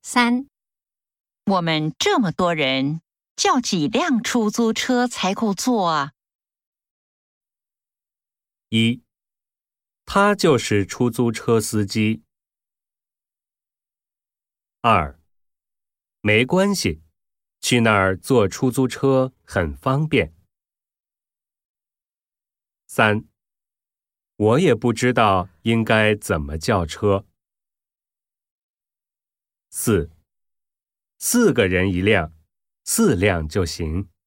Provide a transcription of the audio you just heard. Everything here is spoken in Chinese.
3、 我们这么多人，叫几辆出租车才够坐啊 ？1. 他就是出租车司机。2. 没关系，去那儿坐出租车很方便。3. 我也不知道应该怎么叫车。4. 4个人一辆，4辆就行。